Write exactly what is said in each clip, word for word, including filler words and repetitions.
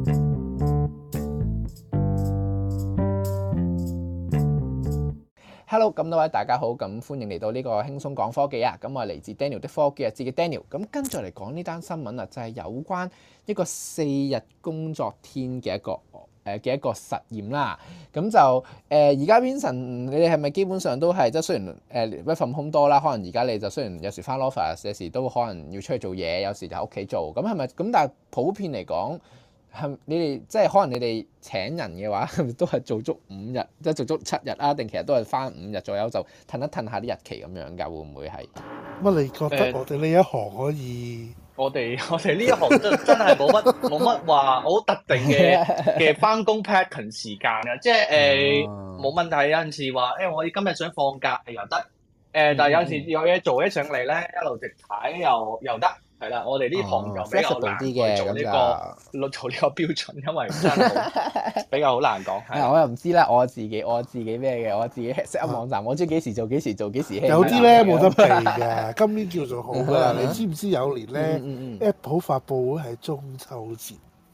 Hello，咁多位大家好，咁歡迎嚟到呢個輕鬆講科技啊！咁我係嚟自 Daniel 的科技日誌嘅 Daniel，咁跟住嚟講呢單新聞啊，就係有關一個四日工作天嘅一個誒嘅一個實驗啦。咁就誒而家 Vincent，你哋係咪基本上都係即係雖然誒 work from home 多啦，可能而家你就雖然有時翻 office，有時都可能要出去做嘢，有時就喺屋企做。咁係咪咁？但係普遍嚟講，係你哋即係可能你哋請人嘅話，都係做足五日，即係做足七日啊？定其實都係翻五日左右就褪一褪下啲日期咁樣㗎？會唔會係？ 乜你覺得我哋呢一行可以？ 呃、我哋我哋呢一行真真係冇乜冇乜話好特定嘅嘅翻工 pattern 時間啊！即係誒冇問題。有陣時話誒、欸，我今日想放假又得誒、呃，但係有陣時有嘢做起上嚟咧，一路直睇又又得。係啦，我哋呢行就比較難啲嘅，做呢、這個做呢個標準，因為真係比較好難講。係我又唔知啦，我自己我自己咩嘅，我自己 set up 網站，我知幾時做幾時做幾時。 有啲咧冇得避嘅，今年叫做好啦。你知唔知有年咧、嗯嗯嗯、Apple 發佈會係中秋節？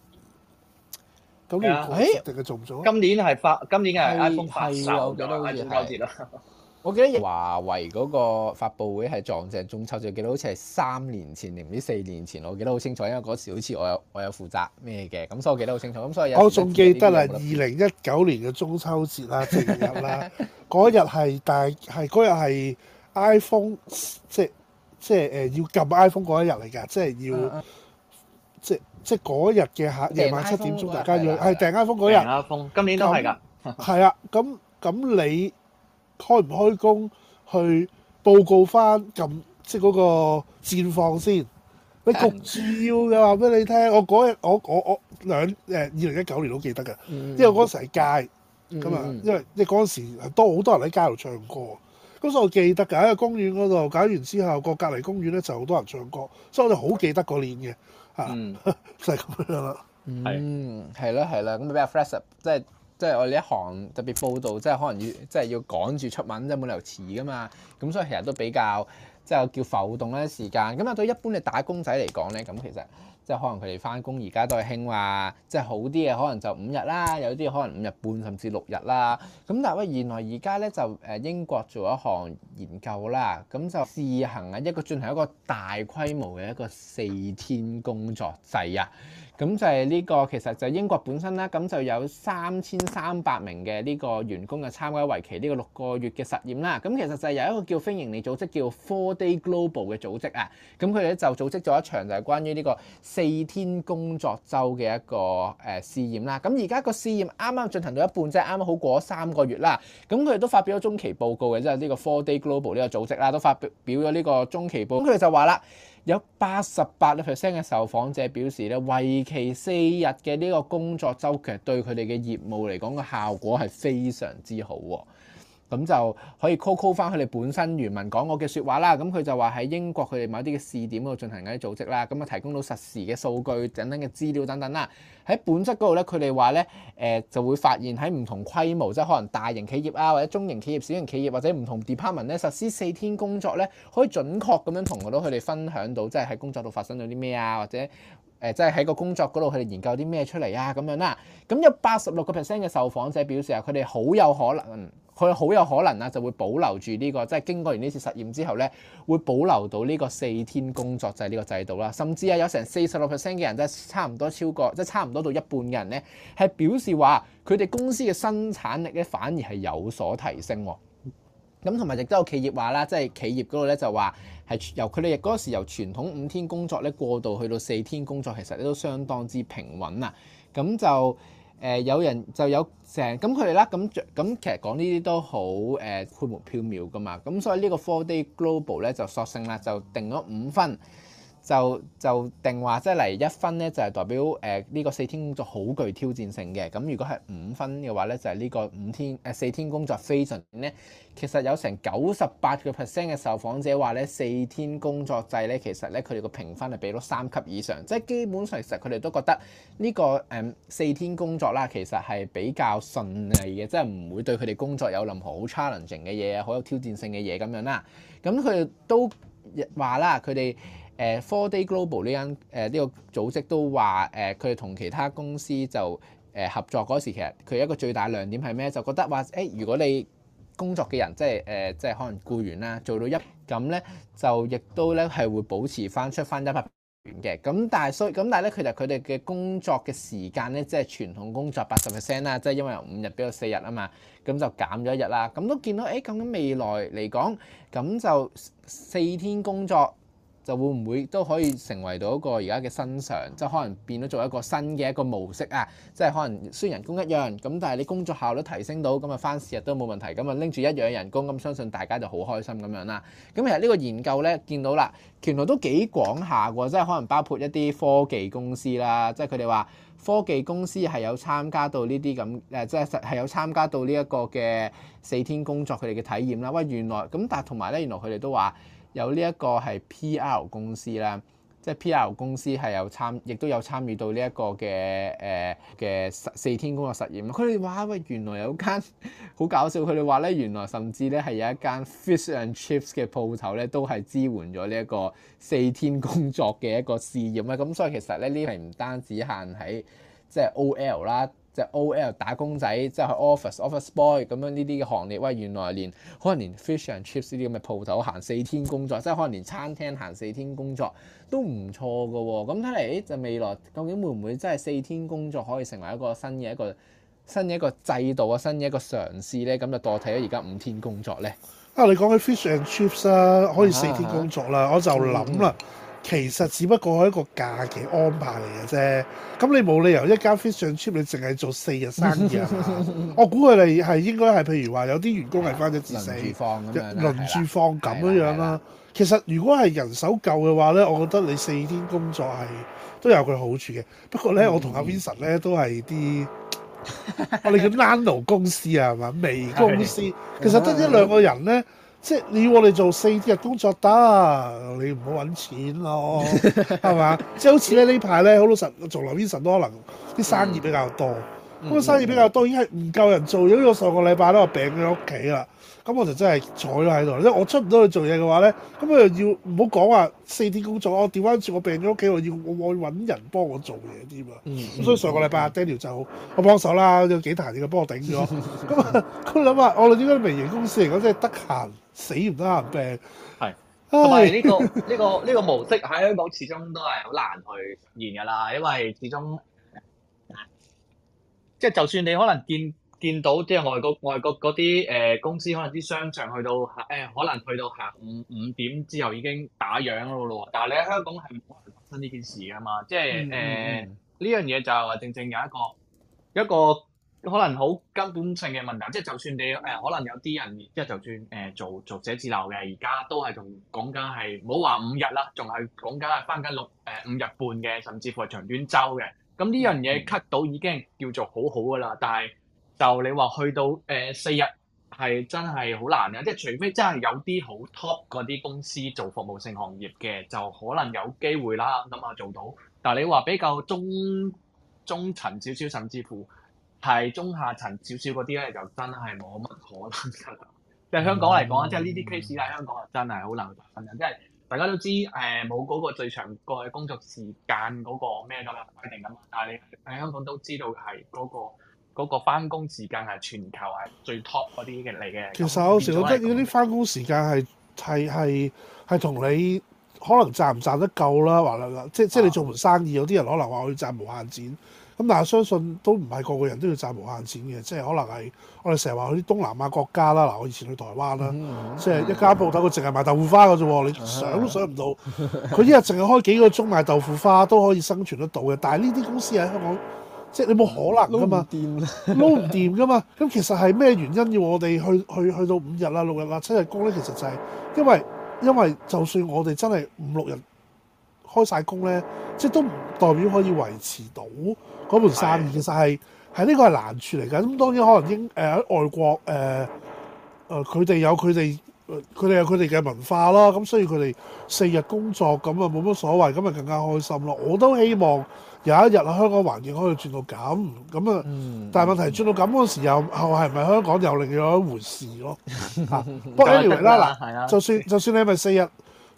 咁你定係做唔做？ 今年係發，今年係 iPhone 發售咗啦，中秋節啦。 我記得華為嗰個發佈會係撞正中秋節，記得好似係三年前定唔知四年前，我記得好清楚，因為嗰時好似我有我有負責咩嘅，咁所以我記得好清楚。咁所以我仲記得啦，二零一九年嘅中秋節啦，正日啦，嗰日係但係係嗰日係 iPhone 即即係誒要撳 iPhone 嗰一日嚟㗎，即係要、啊、即即嗰日嘅下夜晚七點鐘，大家要係訂 iPhone 嗰日。 訂 iPhone 今年都係㗎。 係啊，咁咁你開唔開工去報告翻咁即係嗰個戰況先？你焗住要嘅話俾你聽，我嗰日我我我兩誒二零一九年都記得㗎，嗯、因為嗰陣時喺街咁啊，嗯、因為即係嗰陣時多好多人喺街度唱歌，咁所以我記得㗎喺個公園嗰度搞完之後，個隔離公園咧就好多人唱歌，所以我哋好記得嗰年嘅嚇，嗯、就係咁樣啦。 嗯，係啦係啦，咁比較 flexible 即係。即係我哋一行特別報道，即係可能要即係要趕住出文，即係冇理由遲噶嘛。咁所以其實都比較即係叫浮動咧時間。咁啊對一般嘅打工仔嚟講咧，咁其實即係可能佢哋翻工而家都係興話，即係好啲嘅可能就五日啦，有啲可能五日半甚至六日啦。咁但係喂，原來而家咧就誒英國做一項研究啦，咁就試行啊一個進行一個大規模嘅一個四天工作制啊。咁就係呢個其實就係英國本身啦，咁就有三千三百名嘅呢個員工嘅參加為期呢個六個月嘅實驗啦。咁其實就係有一個叫非營利組織叫 Four Day Global 嘅組織啊。咁佢哋咧就組織咗一場就係關於呢個四天工作週嘅一個誒試驗啦。咁而家個試驗啱啱進行到一半，即係啱啱好過咗三個月啦。咁佢哋都發表咗中期報告嘅，即係呢個 Four Day Global 呢個組織啦，都發表咗呢個中期報告。咁佢哋就話啦，有八十八 percent 嘅受訪者表示咧，為期四日嘅呢個工作週其實對佢哋嘅業務嚟講個效果係非常之好喎。咁就可以 call call 翻佢哋本身原文講過嘅説話啦。咁佢就話喺英國佢哋某啲嘅試點嗰度進行緊啲組織啦，咁啊提供到實時嘅數據等等嘅資料等等啦。喺本質嗰度咧，佢哋話咧誒就會發現喺唔同規模，即係可能大型企業啊，或者中型企業、小型企業或者唔同 department 咧實施四天工作咧，可以準確咁樣同到佢哋分享到，即係喺工作度發生咗啲咩啊，或者誒即係喺個工作嗰度佢哋研究啲咩出嚟啊咁樣啦。咁有八十六個 percent 嘅受訪者表示啊，佢哋好有可能。佢好有可能啊，就會保留住呢個，即係經過完呢次實驗之後咧，會保留到呢個四天工作制呢個制度啦。甚至啊，有成四十六 percent 嘅人，即係差唔多超過，即係差唔多到一半嘅人咧，係表示話佢哋公司嘅生產力咧反而係有所提升喎。咁同埋亦都有企業話啦，即係企業嗰度咧就話係由佢哋嗰時由傳統五天工作咧過渡去到四天工作，其實都相當之平穩啊。咁就誒、呃、有人就有成咁佢哋啦，咁咁其實講呢啲都好誒虛無縹緲噶嘛，咁所以呢個 Four Day Global 咧就索性啦，就定咗五分。就就定話即係嚟一分咧，就係代表誒呢、呃這個四天工作好具挑戰性嘅。咁如果係五分嘅話咧，就係、是、呢個五天誒、呃、四天工作非常咧。其實有成九十八個 percent 嘅受訪者話咧，四天工作制咧，其實咧佢哋個評分係俾到三級以上，即係基本上其實佢哋都覺得呢、這個誒、嗯、四天工作啦，其實係比較順利嘅，即係唔會對佢哋工作有任何好 challenging 嘅嘢，好有挑戰性嘅嘢咁樣啦。咁佢哋都話啦，佢哋。誒誒 Four Day Global 呢間誒呢個組織都話誒佢哋同其他公司就誒合作嗰時，其實佢一個最大亮點係咩？就覺得話誒、欸，如果你工作嘅人即係誒、呃、即係可能僱員啦，做到一咁咧，就亦都咧係會保持翻出翻一百元嘅。咁但係所以咁但係咧，其實佢哋嘅工作嘅時間咧，即係傳統工作八十 percent 啦，即係因為由五日變到四日啊嘛，咁就減咗一日啦。咁都見到誒，咁樣未來嚟講，咁就四天工作。就會唔會都可以成為到一個而家嘅新常，即係可能變咗做一個新嘅一個模式啊！即係可能雖然人工一樣，咁但係你工作效率提升到，咁啊返四日都冇問題，咁啊拎住一樣嘅人工，咁相信大家就好開心咁樣啦。咁其實呢個研究咧見到啦，原來都幾廣下喎，即係可能包括一啲科技公司啦，即係佢哋話科技公司係有參加到呢啲咁誒，即係實係有參加到呢一個嘅四天工作佢哋嘅體驗啦。喂，原來咁，但係同埋咧，原來佢哋都話。有呢一個係 P R 公司啦，即係 P R 公司係有參，亦都有參與到呢一個嘅誒嘅四天工作實驗。佢哋話喂，原來有間好搞笑，佢哋話咧，原來甚至咧係有一間 fish and chips 嘅鋪頭咧，都係支援咗呢一個四天工作嘅一個試驗啊。咁所以其實咧，呢係唔單止限喺即係 O L 啦。即係 O L 打工仔，即係去 office office boy 咁樣呢啲嘅行列，喂，原來連可能連 fish and chips 呢啲咁嘅鋪頭行四天工作，即係可能連餐廳行四天工作都唔錯㗎喎。咁睇嚟就未來究竟會唔會真係四天工作可以成為一個新嘅一個新嘅一個制度啊，新嘅一個嘗試咧？咁就代替咗而家五天工作咧。 啊，你講起 fish and chips 啊，可以四天工作啦，啊、我就諗啦。嗯其實只不過係一個假期安排嚟嘅啫，咁你冇理由一間 fish and chip 你淨係做四日生意啊嘛？我估佢哋係應該係譬如話有啲員工係翻一至四，輪住放咁樣，輪住放咁樣樣啦。其實如果係人手夠嘅話咧，我覺得你四天工作係都有佢好處嘅。不過咧，嗯、我同阿 Vincent 咧都係啲我哋叫 nano 公司啊，係嘛？微公司，其實得一兩個人咧。即係你要我哋做四日工作得，你唔好揾錢咯，係嘛？即係好似咧呢排咧，好老實做留 Vincent 都可能啲生意比較多，咁、嗯、個生意比較多已經係唔夠人做，因為我上個禮拜咧我病咗喺屋企啦，咁我就真係坐咗喺度，因為我出唔到去做嘢嘅話咧，咁我又要唔好講話四天工作，我調翻轉我病咗屋企，我要我揾人幫我做嘢添啊，咁、嗯、所以上個禮拜阿 Daniel 就我幫手啦，有幾壇嘢幫我頂咗，咁啊佢諗下我哋點解微型公司嚟講真係得閒。死唔得閒病，係同埋呢個呢、呢個呢、呢個模式喺香港始終都係好難去實現㗎啦，因為始終即係就算你可能見見到即係外國外國嗰啲誒公司，可能啲商場去到誒、呃、可能去到下午五點之後已經打烊咯咯，但係你喺香港係冇可能發生呢件事㗎嘛，即係誒呢樣嘢就係話正正有一個一個。可能好根本性嘅問題，即係就算你誒、呃，可能有啲人即係就算誒、呃、做做寫字樓嘅，而家都係仲講緊係唔好話五日啦，仲係講緊係翻緊六誒五日半嘅，甚至乎係長短週嘅。咁呢樣嘢 cut 到已經叫做好好噶啦，但係就你話去到誒、呃、四日係真係好難嘅，即係除非真係有啲好 top 嗰啲公司做服務性行業嘅，就可能有機會啦咁啊做到。但係你話比較中中層少少，甚至乎係中下層少少嗰啲咧，就真係冇乜可能㗎啦。即係香港嚟講，嗯、即係呢啲 case 喺香港啊，真係好難發生嘅。即係大家都知誒，冇、呃、嗰個最長個工作時間嗰個咩㗎嘛規定㗎嘛。但係你喺香港都知道係嗰、嗰個嗰個翻工時間係全球係最 top 嗰啲嘅嚟嘅。其實有時覺得嗰啲翻工時間係係係係同你可能賺唔賺得夠啦，或者即即係你做門生意，有啲人可能話我要賺無限錢。咁但係相信都唔係個個人都要賺無限錢嘅，即係可能係我哋成日話去啲東南亞國家啦。嗱，我以前去台灣啦，嗯、即係一間鋪頭佢淨係賣豆腐花嘅啫喎，你想都想唔到，佢一日淨係開幾個鐘賣豆腐花都可以生存得到嘅。但係呢啲公司喺香港，即係你冇可能㗎嘛，撈唔掂，撈唔掂㗎嘛。咁其實係咩原因要我哋去去去到五日啊、六日啊、七日工咧？其實就係因為因為就算我哋真係五六日開晒工咧，即係都唔代表可以維持到嗰盤生意。其實係係呢個係難處嚟㗎。咁當然可能英誒喺外國誒誒佢哋有佢哋佢哋有佢哋嘅文化啦。咁所以佢哋四日工作咁啊冇乜所謂，咁啊更加開心咯。我都希望有一日啊香港環境可以轉到咁咁啊，嗯、但係問題轉到咁嗰時又後係咪香港又另有一回事咯？嚇、啊，不過 anyway 啦嗱，就算就算你係咪四日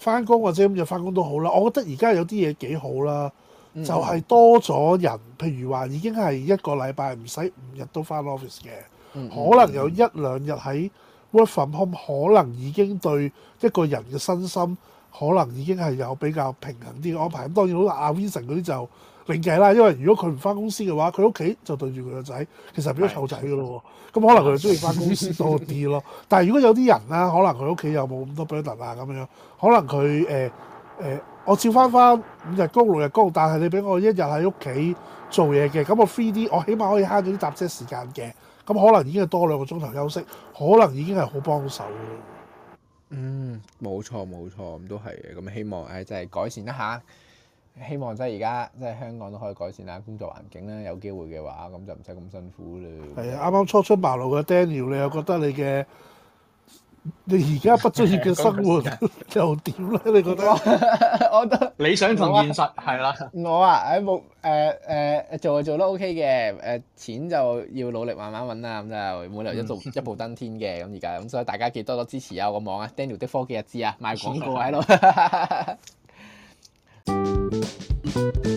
翻工或者五日翻工都好啦。我覺得而家有啲嘢幾好啦， 嗯、 就係多咗人，譬如話已經係一個禮拜唔使五日都翻 office 嘅， 嗯、 可能有一兩日喺 work from home，可能已經對一個人嘅身心可能已經係有比較平衡啲嘅安排。咁當然好似阿 Vincent 嗰啲就另計啦，因為如果佢唔翻公司嘅話，佢屋企就對住佢個仔，其實變咗湊仔㗎咯喎。咁可能佢就中意翻公司多啲咯。但係如果有啲人啦，可能佢屋企又冇咁多 burden 啊咁樣，可能佢誒誒，我照翻翻五日工六日工，但係你俾我一日喺屋企做嘢嘅，咁我 free 啲，我起碼可以慳咗啲搭車時間嘅。咁可能已經係多兩個鐘頭休息，可能已經係好幫手咯。 嗯，冇錯冇錯，咁都係嘅。咁希望誒，即係改善一下。希望即係而家即係香港都可以改善下工作環境啦。有機會嘅話，咁就唔使咁辛苦啦。 係啊，啱啱初出茅廬嘅 Daniel，你又覺得你嘅你而家畢咗業嘅生活又點咧？你覺得？ 我覺得理想同現實係啦。 我啊，誒冇誒誒做就做得 OK 嘅，誒、呃、錢就要努力慢慢揾啦。咁就冇理由一做一步登天嘅。咁而家咁，所以大家記得多多支持啊！我個網啊，Daniel 的科技日誌啊，賣廣告喺度。